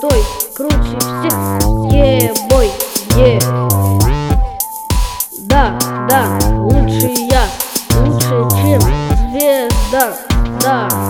крутой, круче всех. Бой, да, лучше я, лучше, чем звезда. Да.